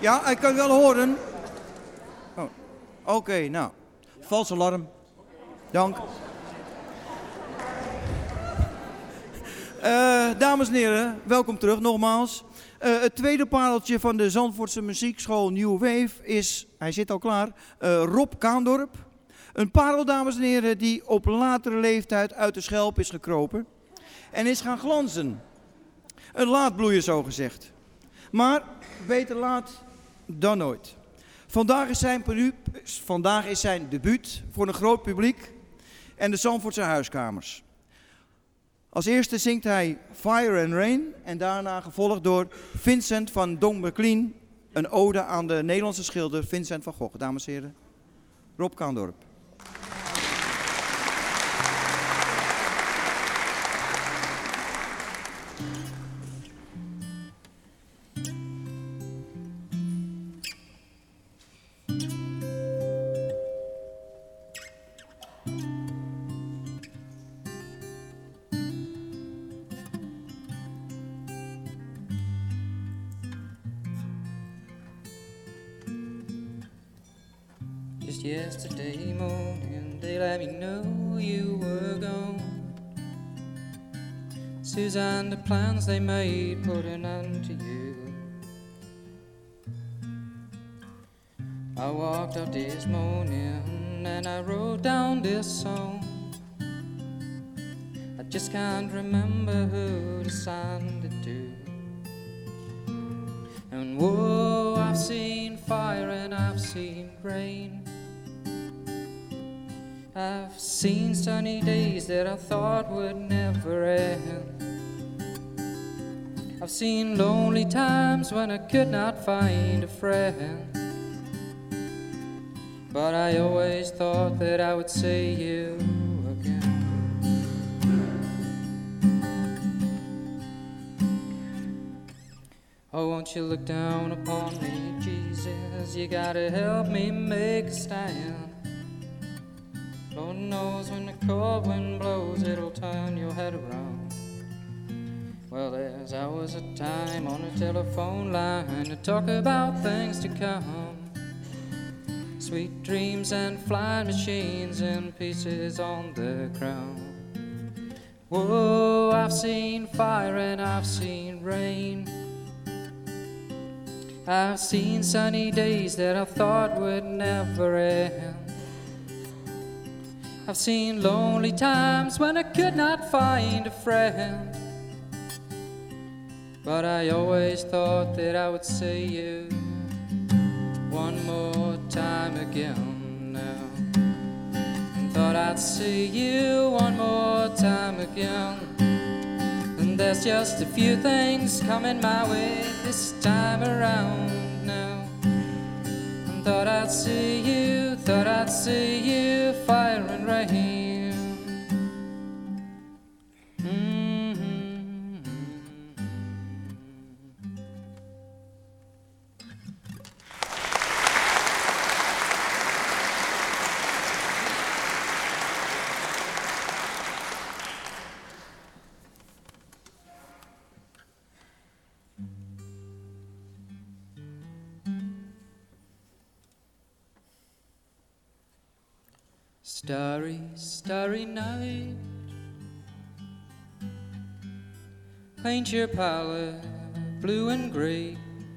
Ja, ik kan wel horen. Oh. Oké, nou. Vals alarm. Dank. Dames en heren, welkom terug nogmaals. Het tweede pareltje van de Zandvoortse muziekschool New Wave is, hij zit al klaar, Rob Kaandorp. Een parel, dames en heren, die op latere leeftijd uit de schelp is gekropen en is gaan glanzen. Een laatbloeier zo gezegd. Maar beter laat dan nooit. Vandaag is zijn debuut voor een groot publiek en de Zandvoortse huiskamers. Als eerste zingt hij Fire and Rain en daarna gevolgd door Vincent van Dong McLean, een ode aan de Nederlandse schilder Vincent van Gogh. Dames en heren, Rob Kaandorp. Just yesterday morning, they let me know you were gone. Suzanne, the plans they made put an end to you. I walked out this morning and I wrote down this song. I just can't remember who to send it to. And whoa, I've seen fire and I've seen rain. I've seen sunny days that I thought would never end. I've seen lonely times when I could not find a friend. But I always thought that I would see you again. Oh, won't you look down upon me, Jesus? You gotta help me make a stand. Lord knows when the cold wind blows, it'll turn your head around. Well, there's hours of time on the telephone line to talk about things to come. Sweet dreams and flying machines and pieces on the ground. Whoa, I've seen fire and I've seen rain. I've seen sunny days that I thought would never end. I've seen lonely times when I could not find a friend. But I always thought that I would see you one more time again now. And thought I'd see you one more time again. And there's just a few things coming my way this time around now. And thought I'd see you, fire and rain. Starry, starry night, paint your palette blue and gray.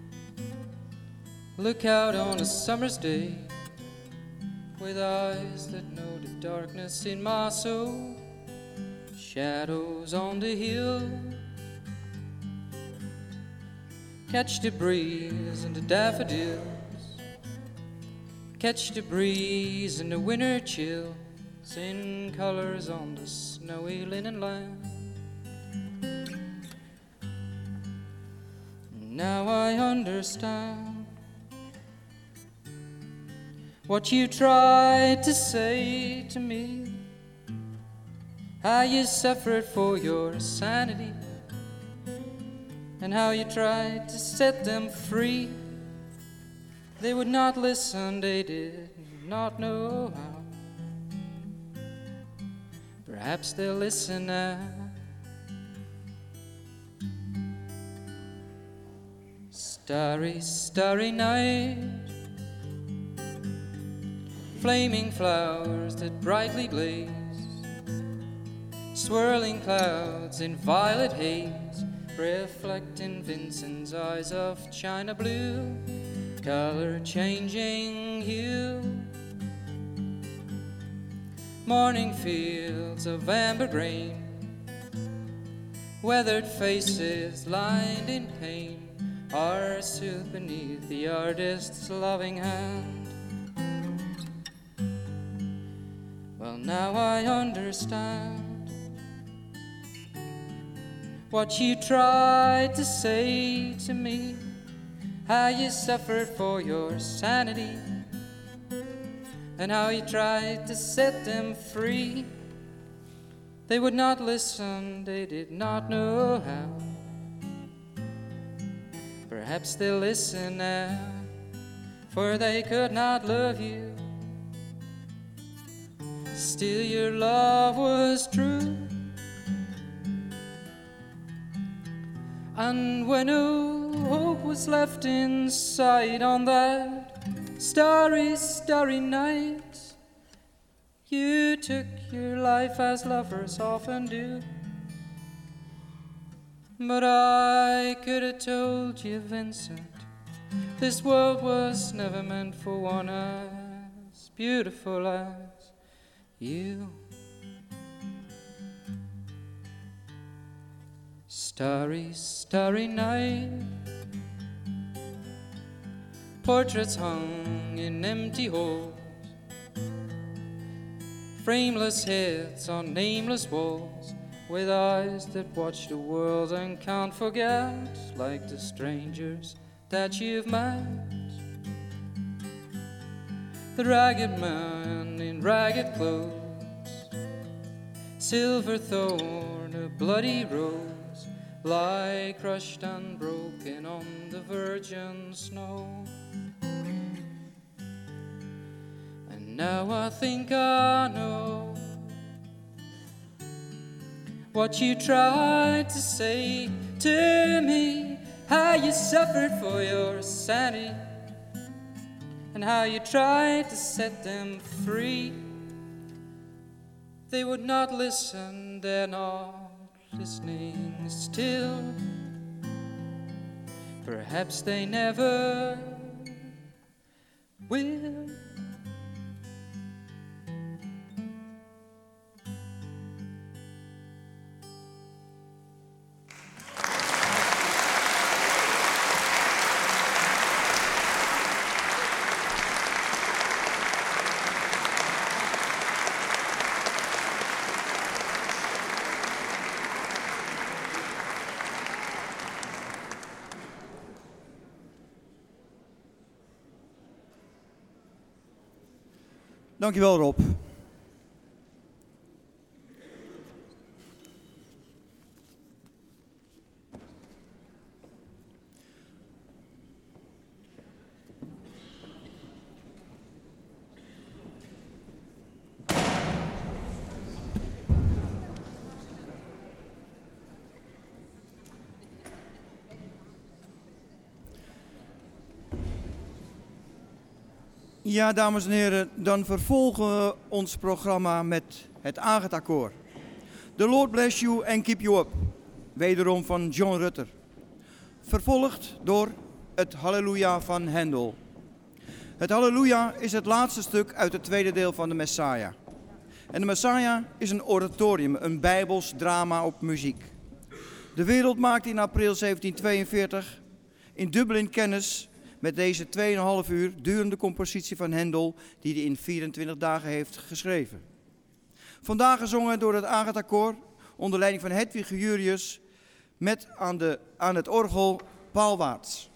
Look out on a summer's day with eyes that know the darkness in my soul. Shadows on the hill, catch the breeze and the daffodils. Catch the breeze and the winter chills in colors on the snowy linen land. Now I understand what you tried to say to me, how you suffered for your sanity, and how you tried to set them free. They would not listen, they did not know how. Perhaps they'll listen now. Starry, starry night, flaming flowers that brightly blaze, swirling clouds in violet haze, reflecting Vincent's eyes of china blue, color changing hue. Morning fields of amber grain, weathered faces lined in pain, are soothed beneath the artist's loving hand. Well, now I understand what you tried to say to me, how you suffered for your sanity, and how you tried to set them free. They would not listen, they did not know how. Perhaps they'll listen now, for they could not love you. Still your love was true. And when no hope was left inside on that starry, starry night, you took your life as lovers often do. But I could have told you, Vincent, this world was never meant for one as beautiful as you. Starry, starry night, portraits hung in empty halls, frameless heads on nameless walls, with eyes that watch the world and can't forget, like the strangers that you've met. The ragged man in ragged clothes, silver thorn, a bloody rose, lie crushed and broken on the virgin snow. And now I think I know what you tried to say to me, how you suffered for your sanity, and how you tried to set them free. They would not listen, they're not listening still. Perhaps they never will. Dankjewel, Rob. Ja, dames en heren, dan vervolgen we ons programma met het Agatha-koor. The Lord bless you and keep you up. Wederom van John Rutter. Vervolgd door het Halleluja van Handel. Het Halleluja is het laatste stuk uit het tweede deel van de Messiah. En de Messiah is een oratorium, een bijbels drama op muziek. De wereld maakte in april 1742 in Dublin kennis met deze 2,5 uur durende compositie van Handel, die hij in 24 dagen heeft geschreven. Vandaag gezongen door het Agatha-koor, onder leiding van Hedwig Jurius, met aan het orgel Paul Waarts.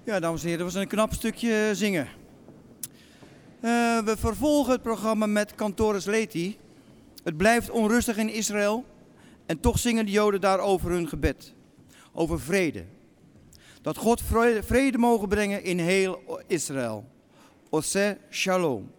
Ja, dames en heren, dat was een knap stukje zingen. We vervolgen het programma met Cantoris Laeti. Het blijft onrustig in Israël en toch zingen de Joden daar over hun gebed. Over vrede. Dat God vrede mogen brengen in heel Israël. Oseh Shalom.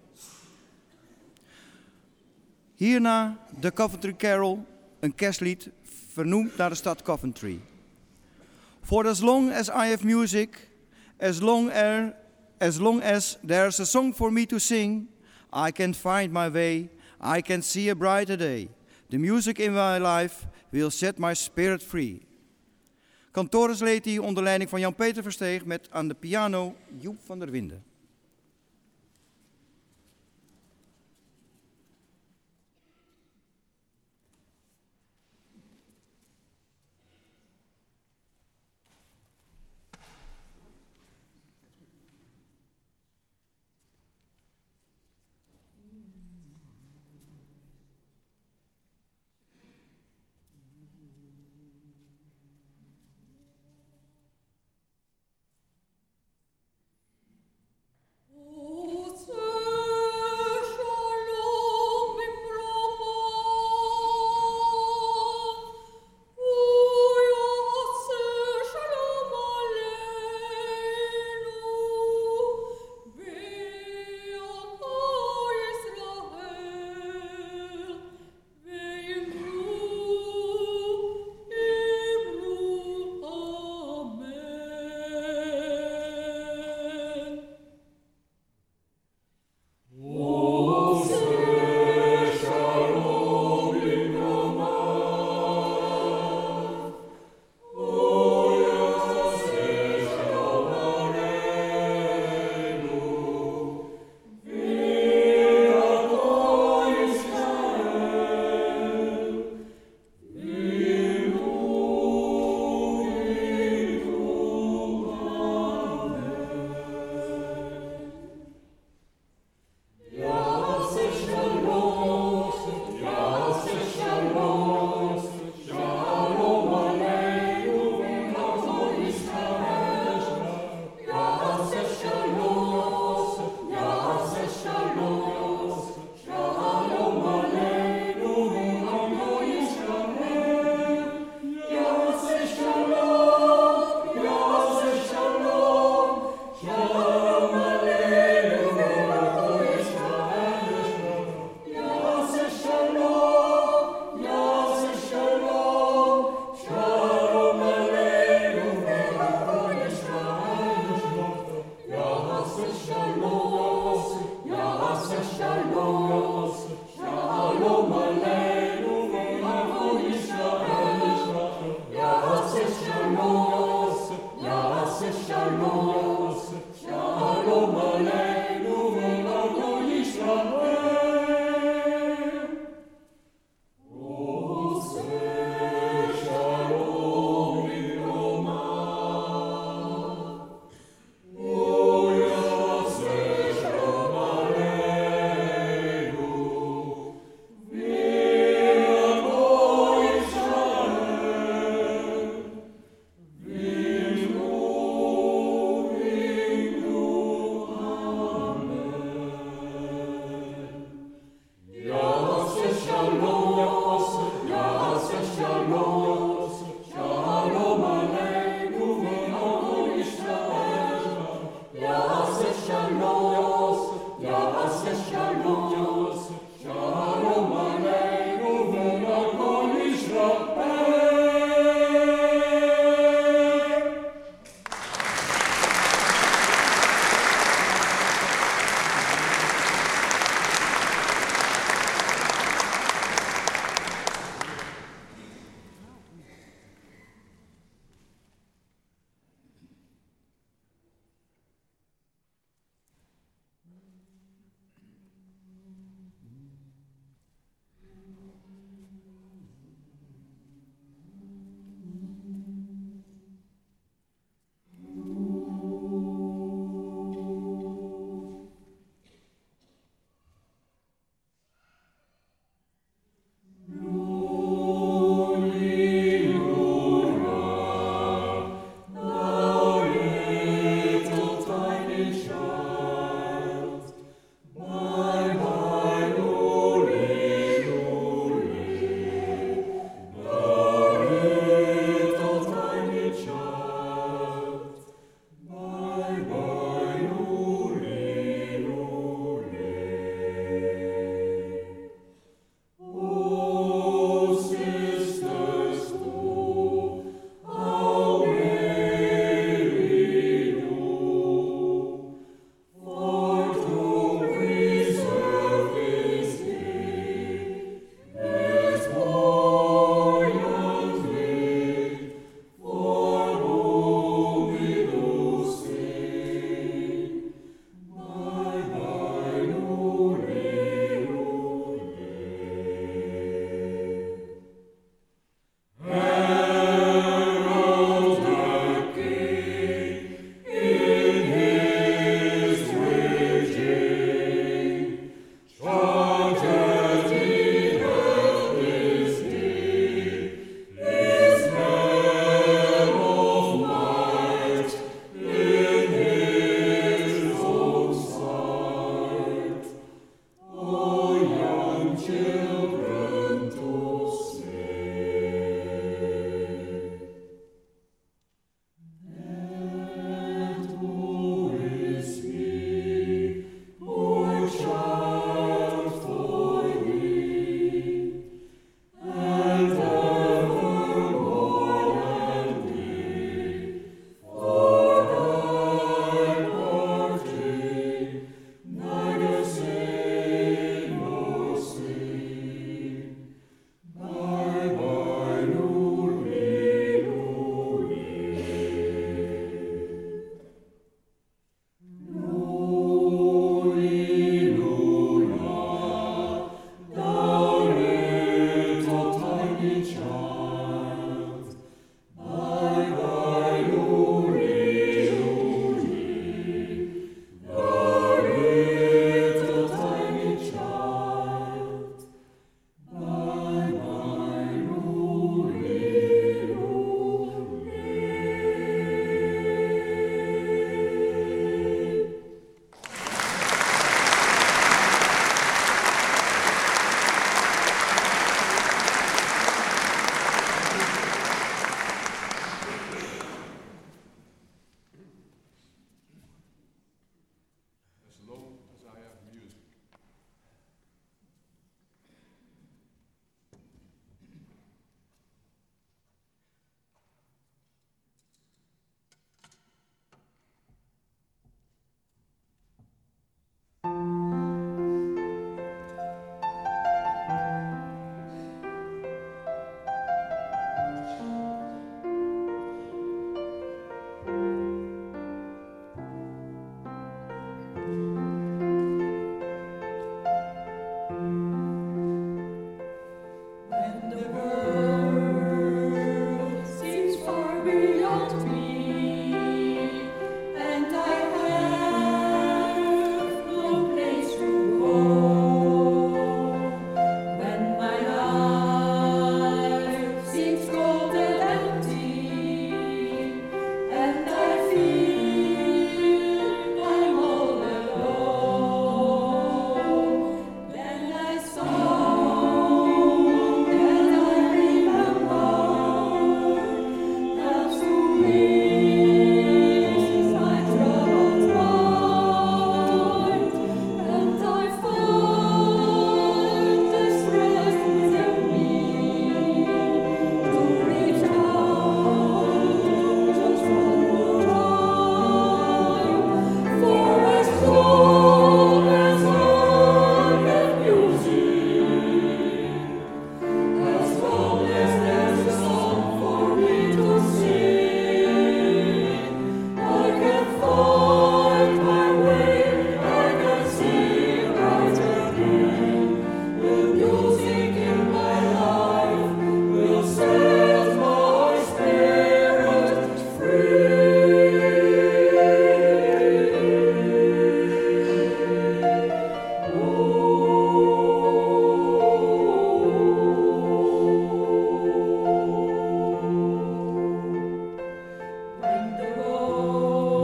Hierna de Coventry Carol, een kerstlied vernoemd naar de stad Coventry. For as long as I have music, as long as there's a song for me to sing, I can find my way, I can see a brighter day. The music in my life will set my spirit free. Cantoris Laeti onder leiding van Jan-Peter Versteeg met aan de piano Joep van der Winden.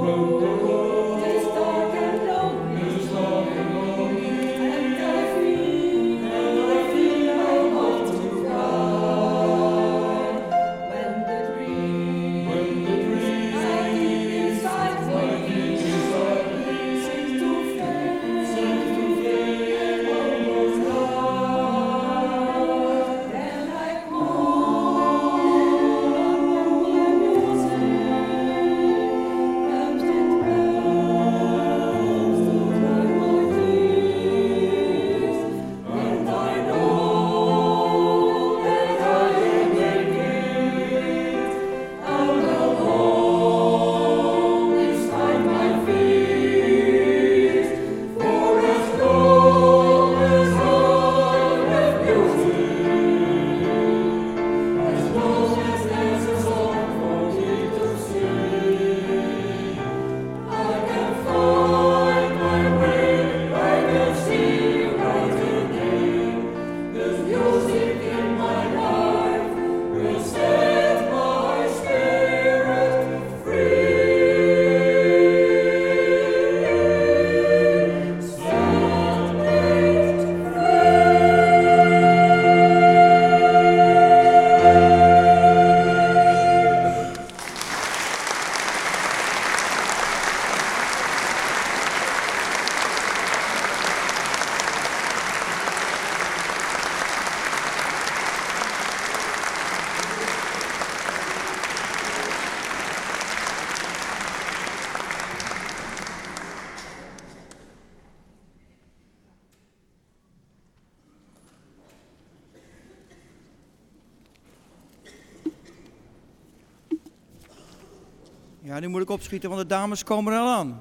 Ja, nu moet ik opschieten, want de dames komen er al aan.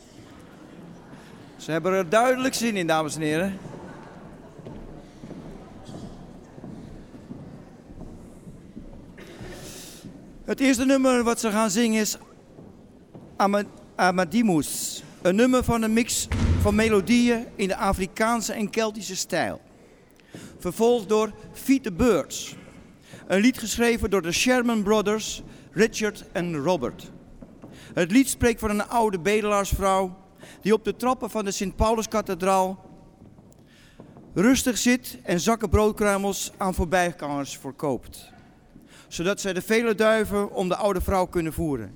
Ze hebben er duidelijk zin in, dames en heren. Het eerste nummer wat ze gaan zingen is Amadimus. Een nummer van een mix van melodieën in de Afrikaanse en Keltische stijl. Vervolgd door Feed the Birds. Een lied geschreven door de Sherman Brothers, Richard en Robert. Het lied spreekt van een oude bedelaarsvrouw die op de trappen van de Sint-Pauluskathedraal rustig zit en zakken broodkruimels aan voorbijgangers verkoopt. Zodat zij de vele duiven om de oude vrouw kunnen voeren.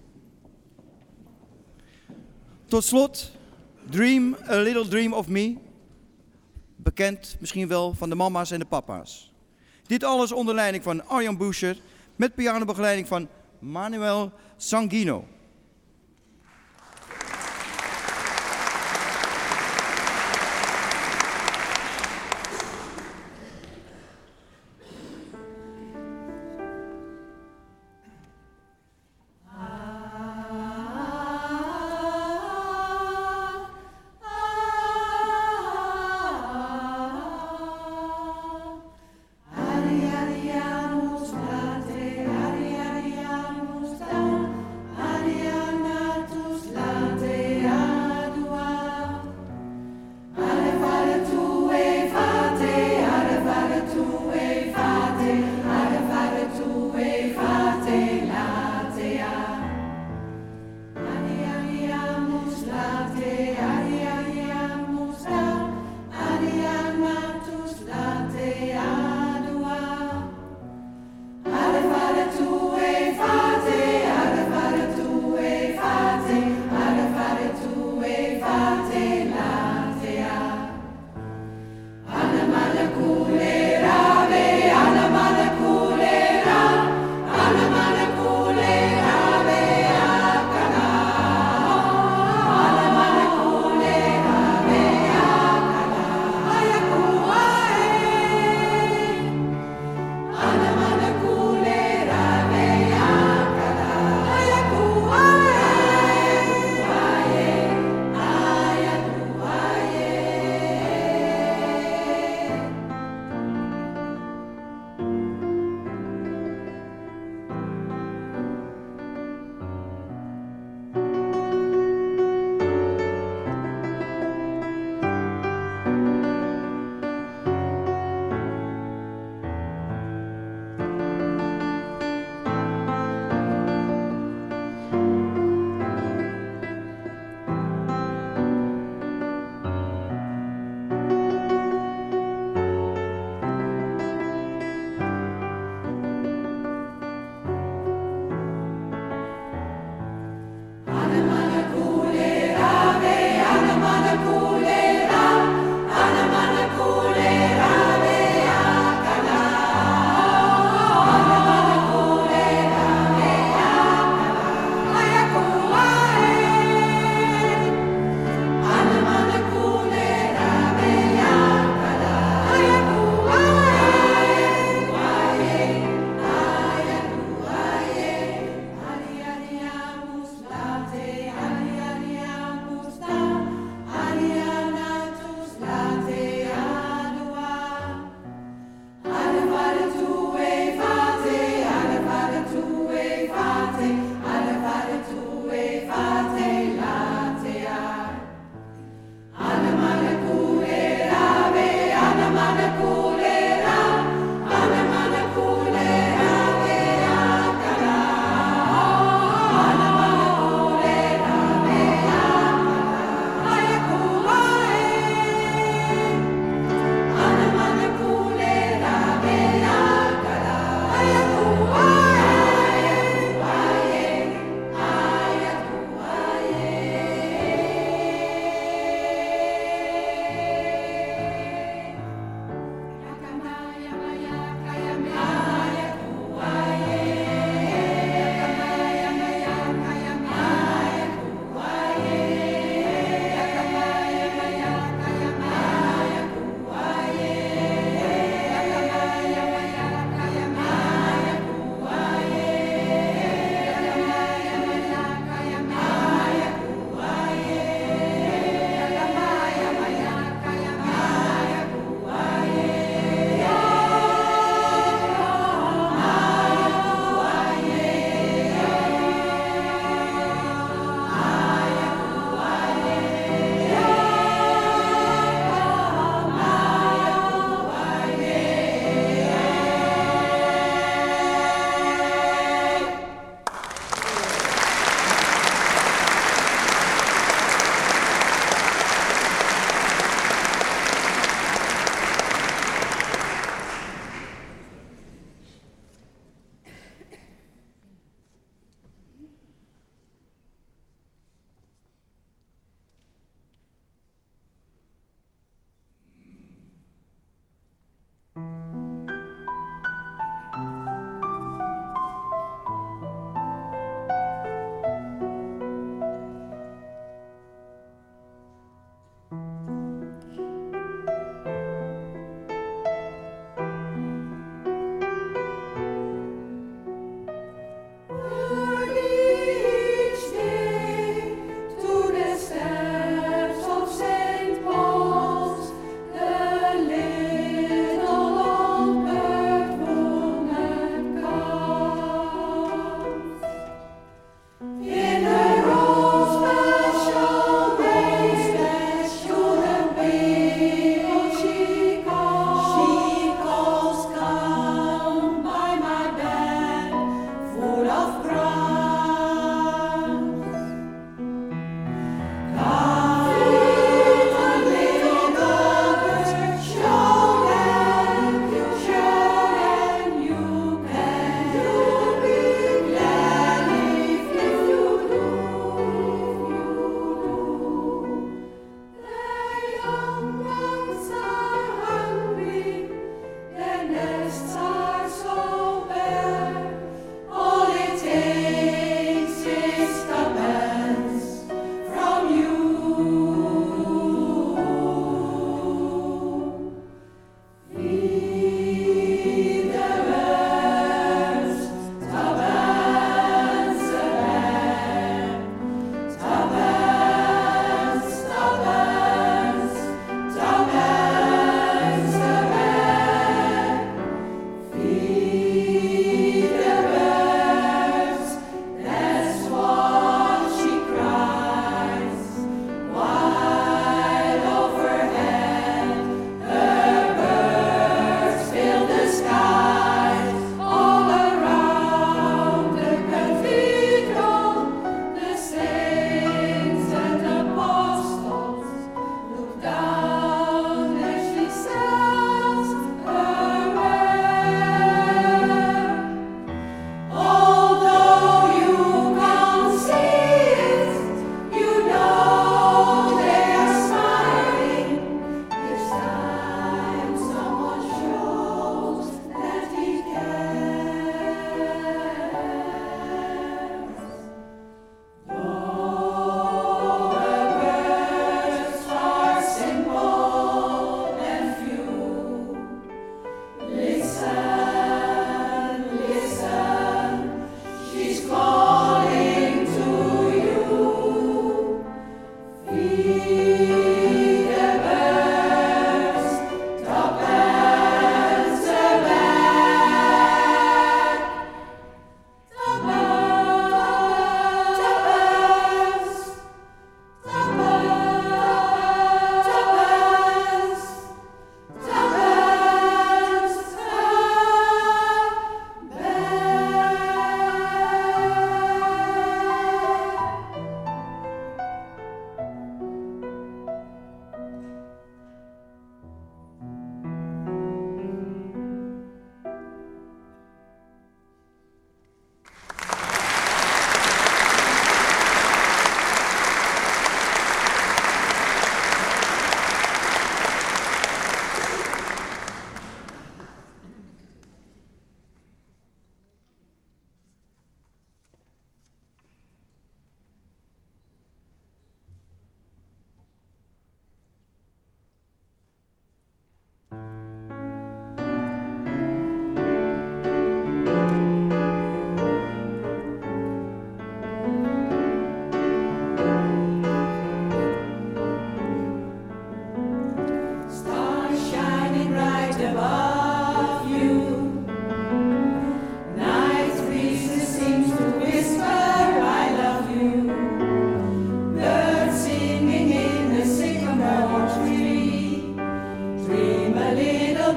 Tot slot, Dream a Little Dream of Me. Bekend misschien wel van de mama's en de papa's. Dit alles onder leiding van Arjan Boucher met pianobegeleiding van Manuel Sanguino. Ari,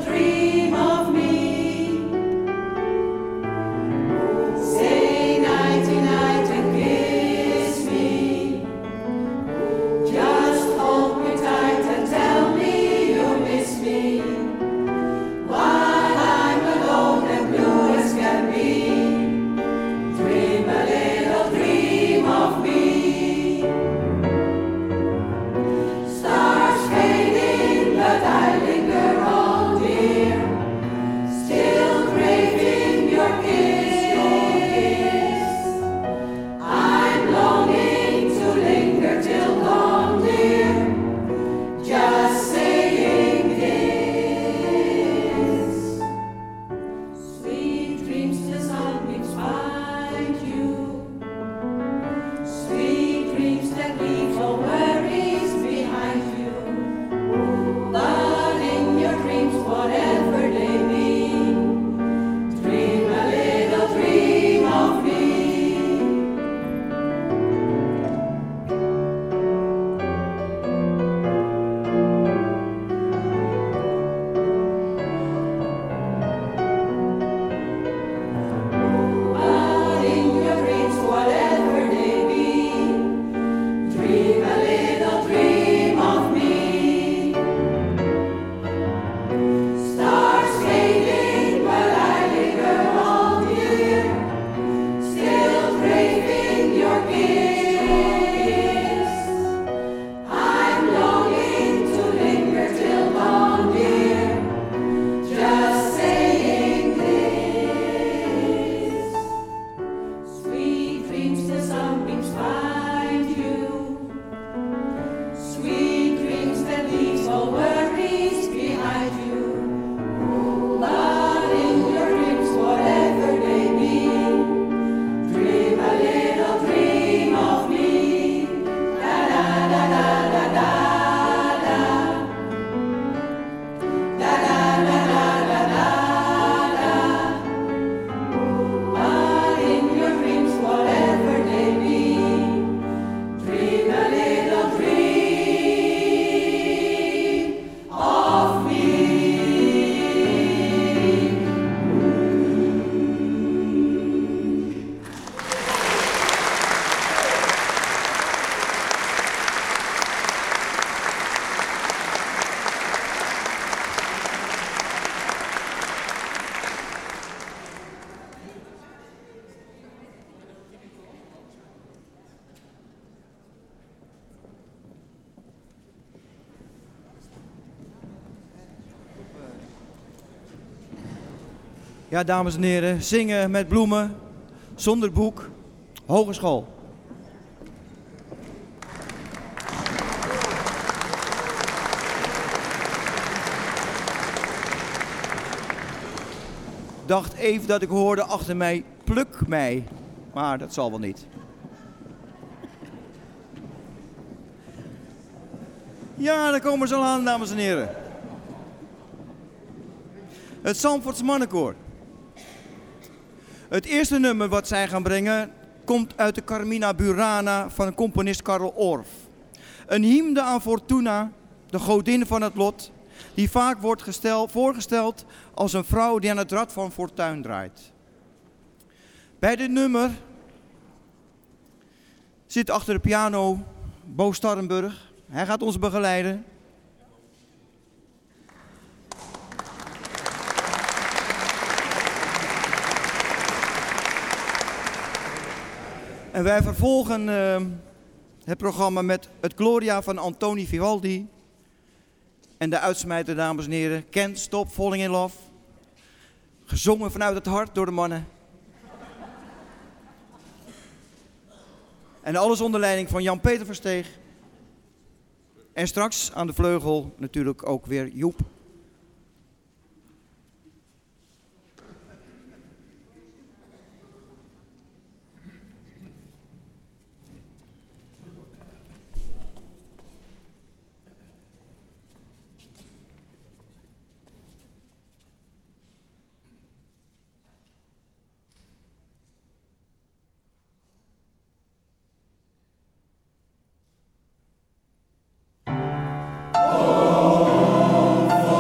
Ja, dames en heren, zingen met bloemen, zonder boek, hogeschool. Dacht even dat ik hoorde achter mij, pluk mij, maar dat zal wel niet. Ja, daar komen ze al aan, dames en heren. Het Zandvoorts Mannenkoor. Het eerste nummer wat zij gaan brengen komt uit de Carmina Burana van componist Karl Orff. Een hymne aan Fortuna, de godin van het lot, die vaak wordt voorgesteld als een vrouw die aan het rad van fortuin draait. Bij dit nummer zit achter de piano Bo Starrenburg. Hij gaat ons begeleiden. En wij vervolgen het programma met het Gloria van Antoni Vivaldi. En de uitsmijter, dames en heren, Can't Stop Falling in Love. Gezongen vanuit het hart door de mannen. En alles onder leiding van Jan-Peter Versteeg. En straks aan de vleugel natuurlijk ook weer Joep. Oh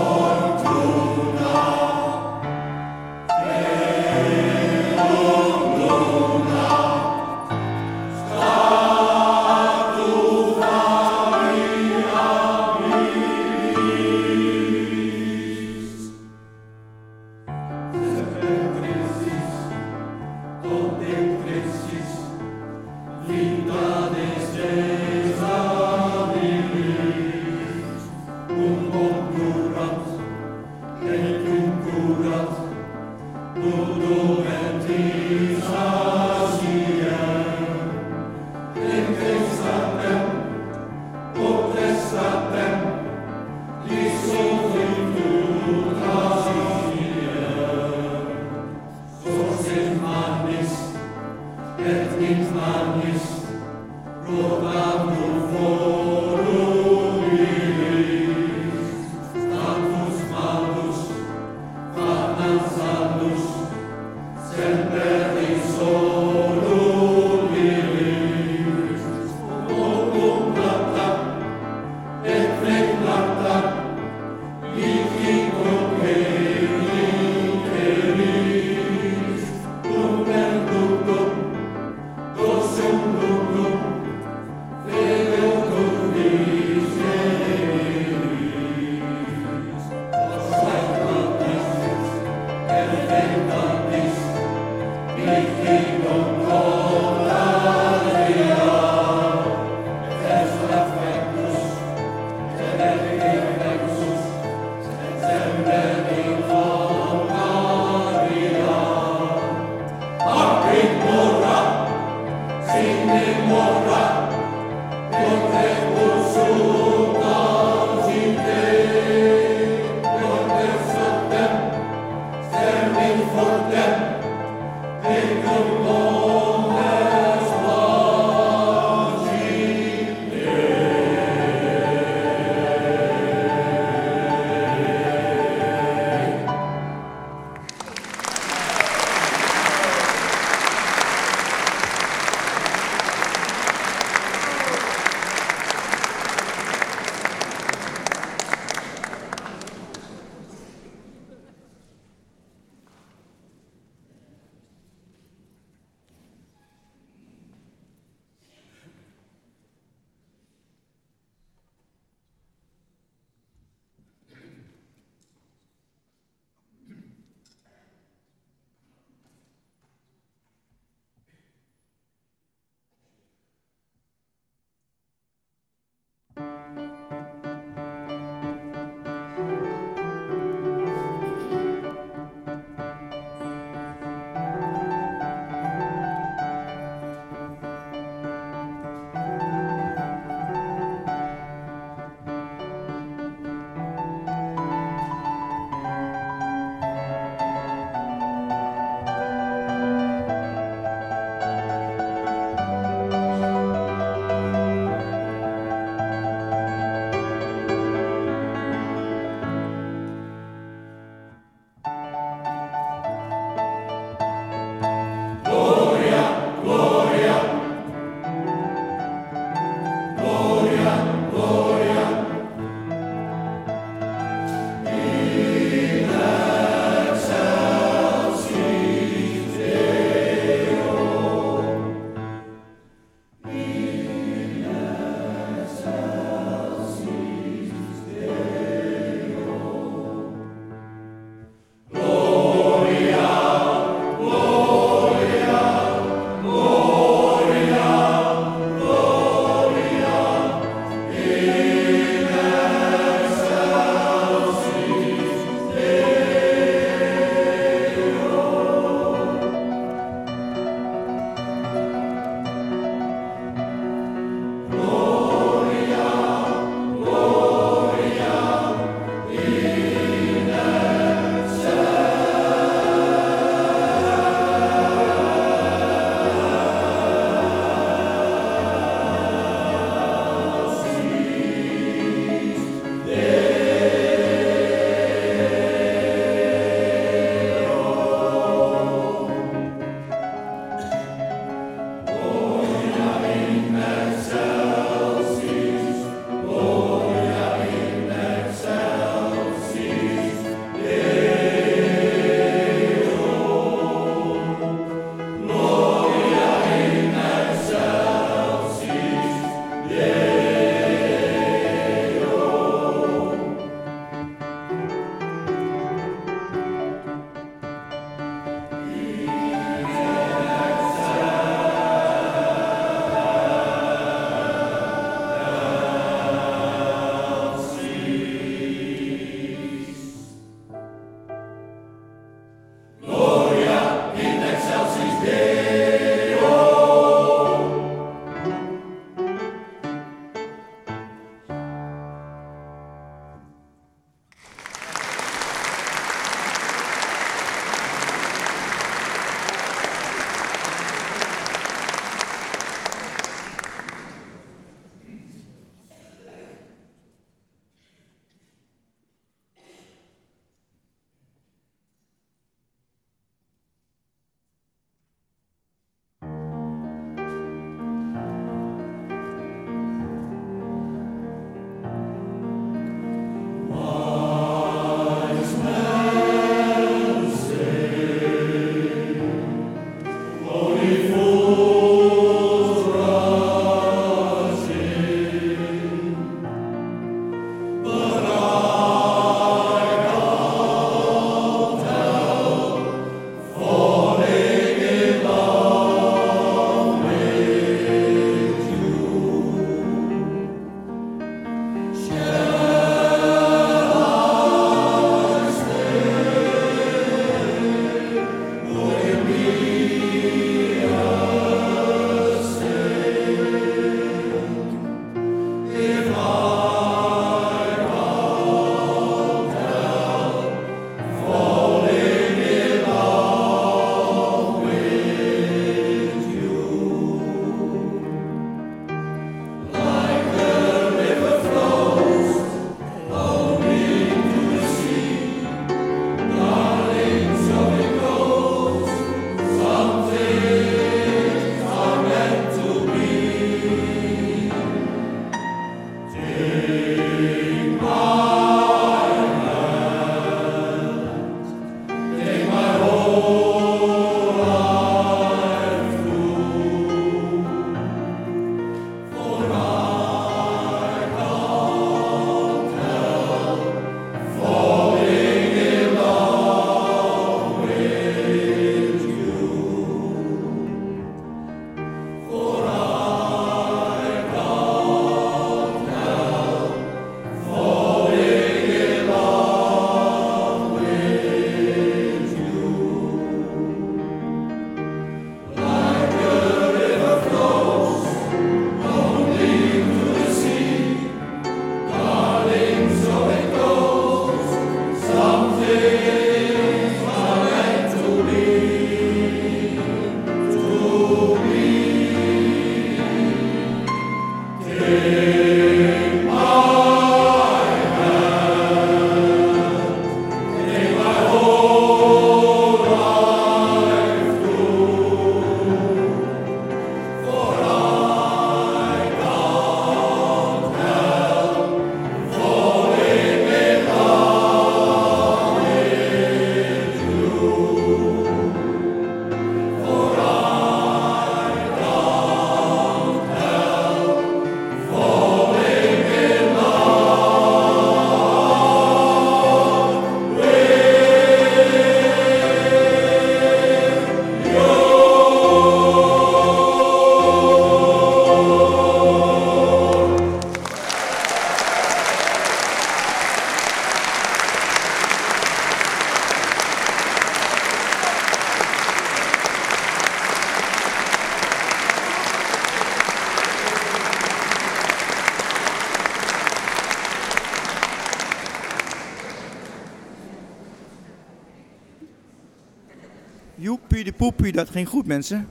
de poepie, dat ging goed, mensen.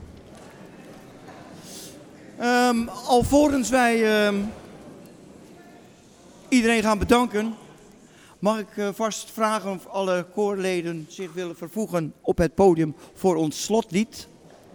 Alvorens wij iedereen gaan bedanken, mag ik vast vragen of alle koorleden zich willen vervoegen op het podium voor ons slotlied.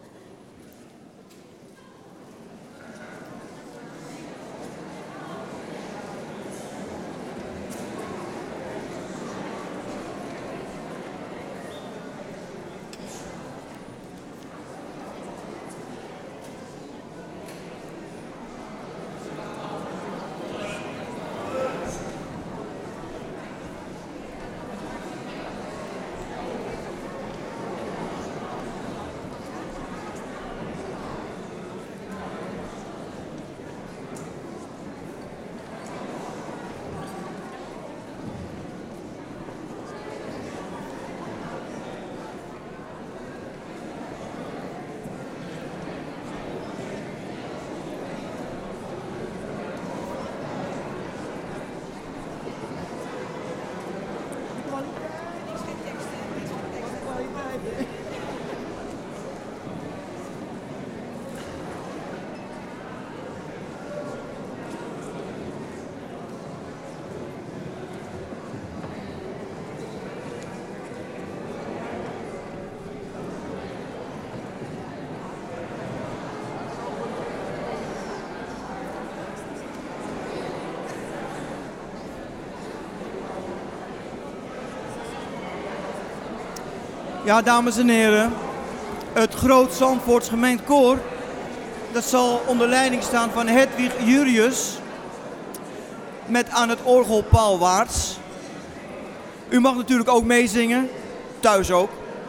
Ja, dames en heren, het Groot Zandvoorts Gemengd Koor, dat zal onder leiding staan van Hedwig Jurius, met aan het orgel Paul Waarts. U mag natuurlijk ook meezingen, thuis ook.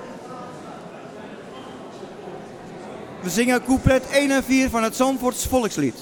We zingen couplet 1 en 4 van het Zandvoorts volkslied.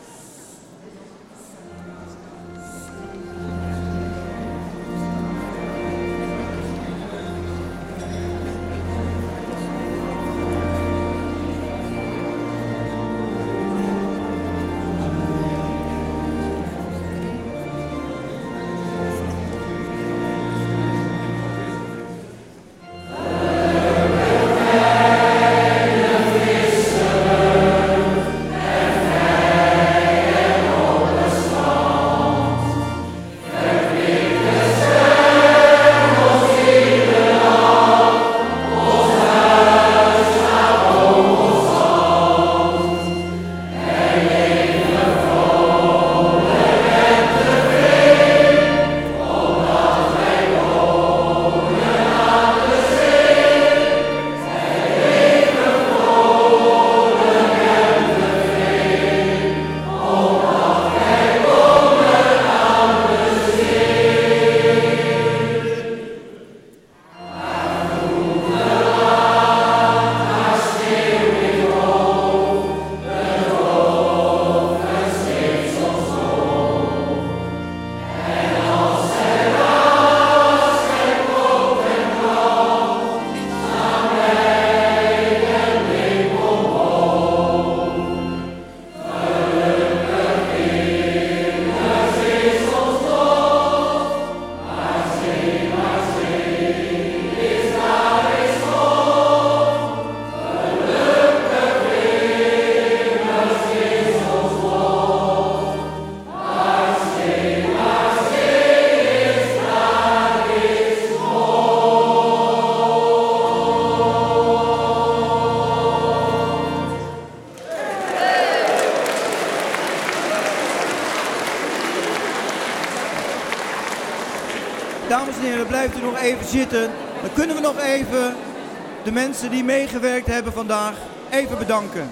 Dames en heren, blijft u nog even zitten. Dan kunnen we nog even de mensen die meegewerkt hebben vandaag even bedanken.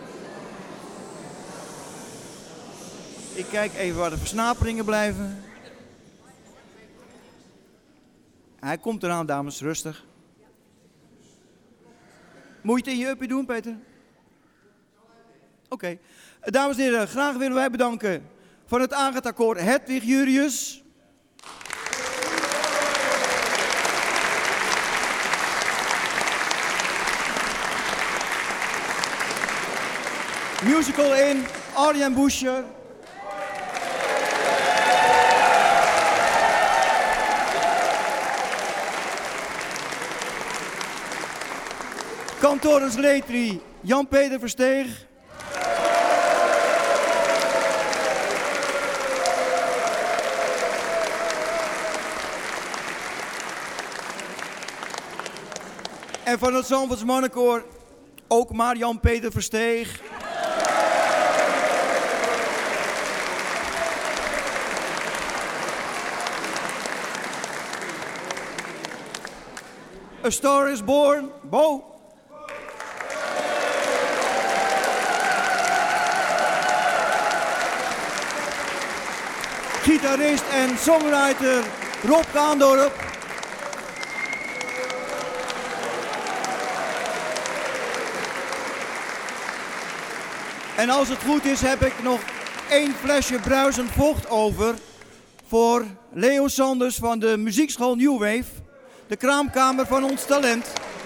Ik kijk even waar de versnaperingen blijven. Hij komt eraan, dames, rustig. Moet je het in je uppie doen, Peter? Oké. Dames en heren, graag willen wij bedanken van het Agatha-koor Hedwig Jurius. Musical in Arjen Buscher. Cantorus Letri, Jan-Peter Versteeg. En van het Zandvoorts Mannenkoor ook maar Jan-Peter Versteeg. A Star is Born, Bo. Gitarist en songwriter Rob Kaandorp. En als het goed is heb ik nog 1 flesje bruisend vocht over voor Leo Sanders van de muziekschool New Wave. De kraamkamer van ons talent.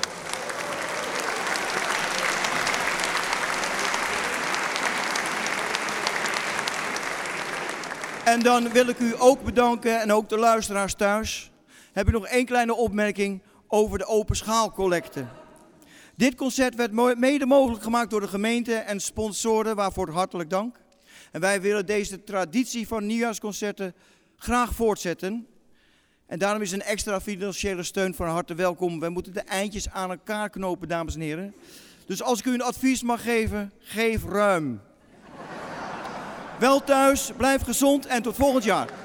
En dan wil ik u ook bedanken en ook de luisteraars thuis. Heb ik nog 1 kleine opmerking over de open schaalcollecte. Dit concert werd mede mogelijk gemaakt door de gemeente en sponsoren, waarvoor hartelijk dank. En wij willen deze traditie van nieuwjaarsconcerten graag voortzetten. En daarom is een extra financiële steun van harte welkom. We moeten de eindjes aan elkaar knopen, dames en heren. Dus als ik u een advies mag geven, geef ruim. Wel thuis, blijf gezond en tot volgend jaar.